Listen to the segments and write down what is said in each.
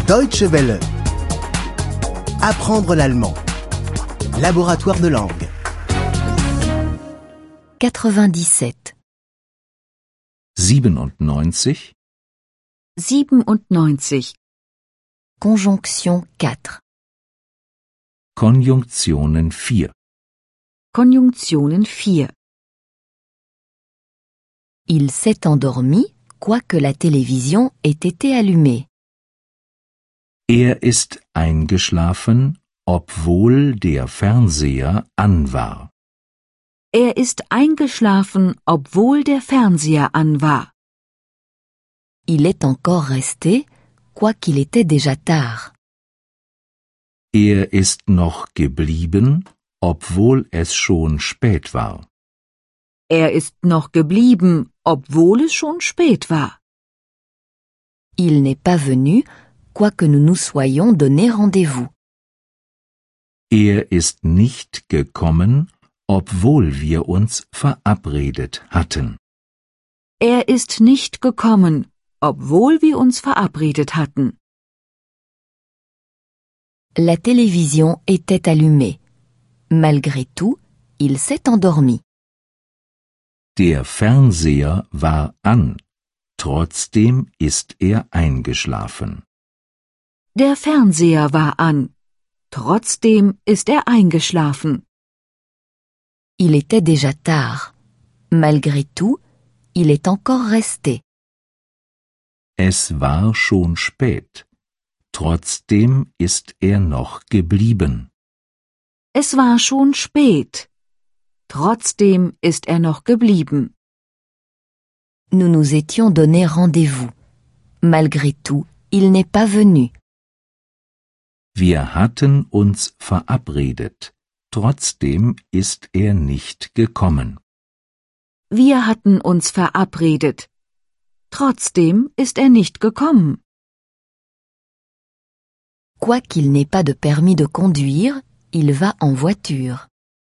Deutsche Welle. Apprendre l'allemand. Laboratoire de langue. 97. 97. 97. Conjonction 4. Konjunktionen 4. Konjunktionen 4. Il s'est endormi, quoique la télévision ait été allumée. Er ist eingeschlafen, obwohl der Fernseher an war. Er ist eingeschlafen, obwohl der Fernseher an war. Il est encore resté, quoiqu'il était déjà tard. Er ist noch geblieben, obwohl es schon spät war. Er ist noch geblieben, obwohl es schon spät war. Il n'est pas venu, quoique nous nous soyons donné rendez-vous. Er ist nicht gekommen, obwohl wir uns verabredet hatten. Er ist nicht gekommen, obwohl wir uns verabredet hatten. La télévision était allumée. Malgré tout, il s'est endormi. Der Fernseher war an, trotzdem ist er eingeschlafen. Der Fernseher war an. Trotzdem ist er eingeschlafen. Il était déjà tard. Malgré tout, il est encore resté. Es war schon spät. Trotzdem ist er noch geblieben. Es war schon spät. Trotzdem ist er noch geblieben. Nous nous étions donné rendez-vous. Malgré tout, il n'est pas venu. Wir hatten uns verabredet. Trotzdem ist er nicht gekommen. Wir hatten uns verabredet. Trotzdem ist er nicht gekommen. Quoiqu'il n'ait pas de permis de conduire, il va en voiture.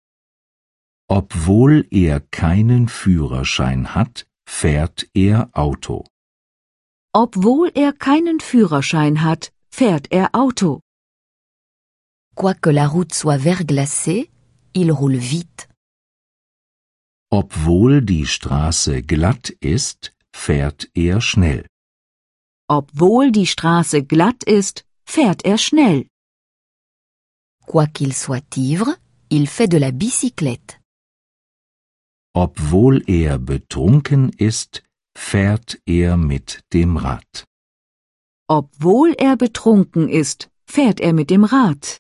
Obwohl er keinen Führerschein hat, fährt er Auto. Obwohl er keinen Führerschein hat, fährt er Auto. Quoique la route soit verglacée, il roule vite. Obwohl die Straße glatt ist, fährt er schnell. Obwohl die Straße glatt ist, fährt er schnell. Quoiqu'il soit ivre, il fait de la bicyclette. Obwohl er betrunken ist, fährt er mit dem Rad. Obwohl er betrunken ist, fährt er mit dem Rad.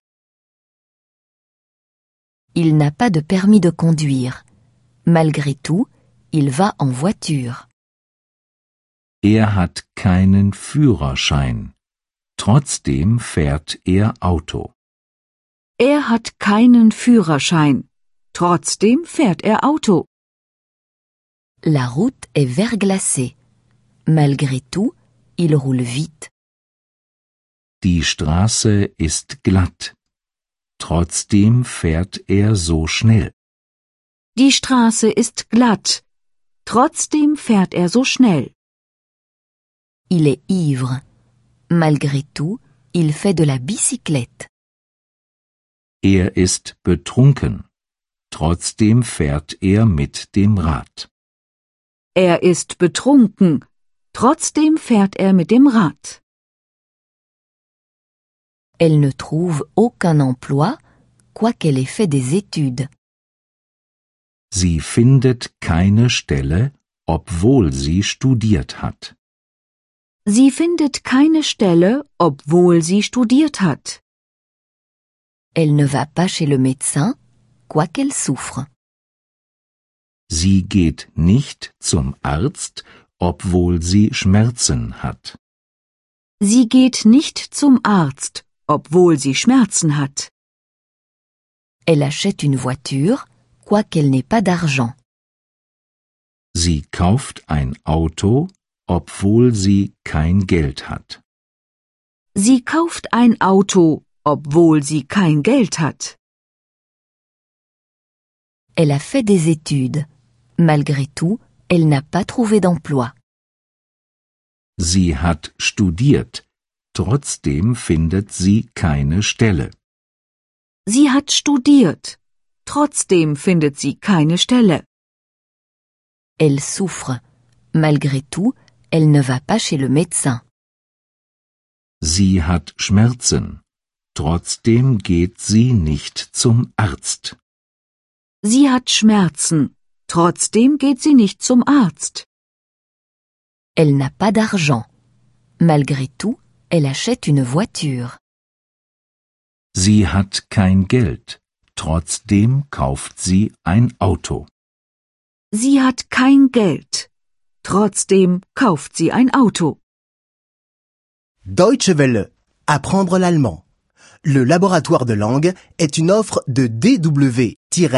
Il n'a pas de permis de conduire. Malgré tout, il va en voiture. Er hat keinen Führerschein. Trotzdem fährt er Auto. Er hat keinen Führerschein. Trotzdem fährt er Auto. La route est verglacée. Malgré tout, il roule vite. Die Straße ist glatt. Trotzdem fährt er so schnell. Die Straße ist glatt. Trotzdem fährt er so schnell. Il est ivre. Malgré tout, il fait de la bicyclette. Er ist betrunken. Trotzdem fährt er mit dem Rad. Er ist betrunken. Trotzdem fährt er mit dem Rad. Elle ne trouve aucun emploi, quoiqu'elle ait fait des études. Sie findet keine Stelle, obwohl sie studiert hat. Sie findet keine Stelle, obwohl sie studiert hat. Elle ne va pas chez le médecin, quoiqu'elle souffre. Sie geht nicht zum Arzt, obwohl sie Schmerzen hat. Sie geht nicht zum Arzt, obwohl sie Schmerzen hat. Elle achète une voiture, quoiqu'elle n'ait pas d'argent. Sie kauft ein Auto, obwohl sie kein Geld hat. Sie kauft ein Auto, obwohl sie kein Geld hat. Elle a fait des études. Malgré tout, elle n'a pas trouvé d'emploi. Sie hat studiert. trotzdem findet sie keine Stelle. Sie hat studiert. Trotzdem findet sie keine Stelle. Elle souffre. Malgré tout, elle ne va pas chez le médecin. Sie hat Schmerzen. Trotzdem geht sie nicht zum Arzt. Sie hat Schmerzen. Trotzdem geht sie nicht zum Arzt. Elle n'a pas d'argent. Malgré tout, elle achète une voiture. Sie hat kein Geld. Trotzdem kauft sie ein Auto. Sie hat kein Geld. Trotzdem kauft sie ein Auto. Deutsche Welle. Apprendre l'allemand. Le laboratoire de langue est une offre de dw-world.de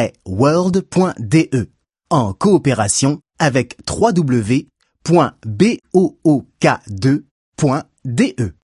en coopération avec www.book2.de.